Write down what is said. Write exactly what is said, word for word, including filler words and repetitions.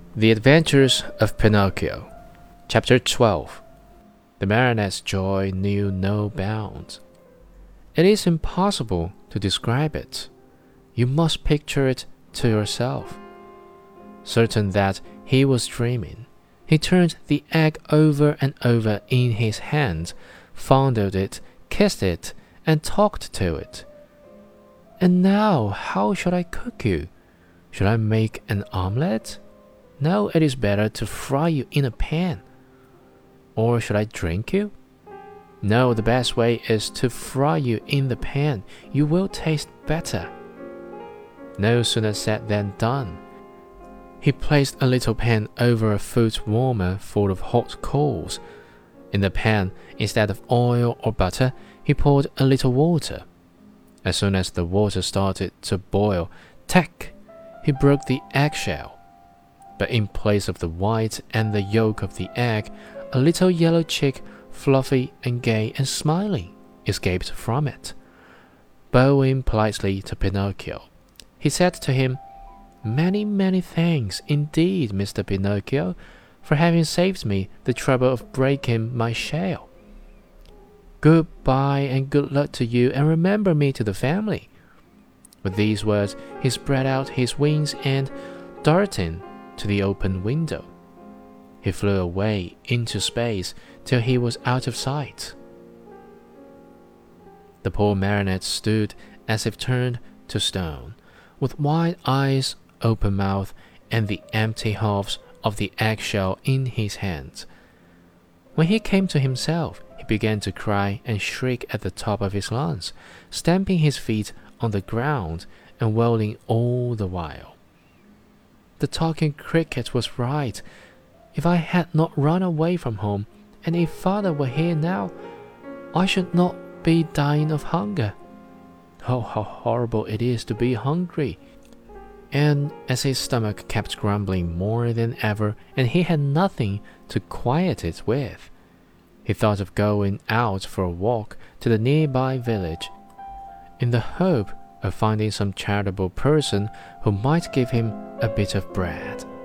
The Adventures of Pinocchio. Chapter twelve. The Marionette's joy knew no bounds. It is impossible to describe it. You must picture it to yourself. Certain that he was dreaming, he turned the egg over and over in his hands, fondled it, kissed it, and talked to it. And now, how shall I cook you? Should I make an omelette? No, it is better to fry you in a pan. Or should I drink you? No, the best way is to fry you in the pan. You will taste better. No sooner said than done. He placed a little pan over a foot warmer full of hot coals. In the pan, instead of oil or butter, he poured a little water. As soon as the water started to boil, tack! He broke the eggshell. But in place of the white and the yolk of the egg, a little yellow chick, fluffy and gay and smiling, escaped from it. Bowing politely to Pinocchio, he said to him, "Many, many thanks indeed, Mister Pinocchio, for having saved me the trouble of breaking my shell. Goodbye and good luck to you, and remember me to the family." With these words, he spread out his wings and, darting to the open window, he flew away into space till he was out of sight. The poor Marionette stood as if turned to stone, with wide eyes, open mouth, and the empty halves of the eggshell in his hands. When he came to himself, he began to cry and shriek at the top of his lungs, stamping his feet on the ground and wailing all the while. The talking cricket was right. If I had not run away from home, and if father were here now, I should not be dying of hunger. Oh, how horrible it is to be hungry. And as his stomach kept grumbling more than ever, and he had nothing to quiet it with, he thought of going out for a walk to the nearby village, in the hope of finding some charitable person who might give him a bit of bread.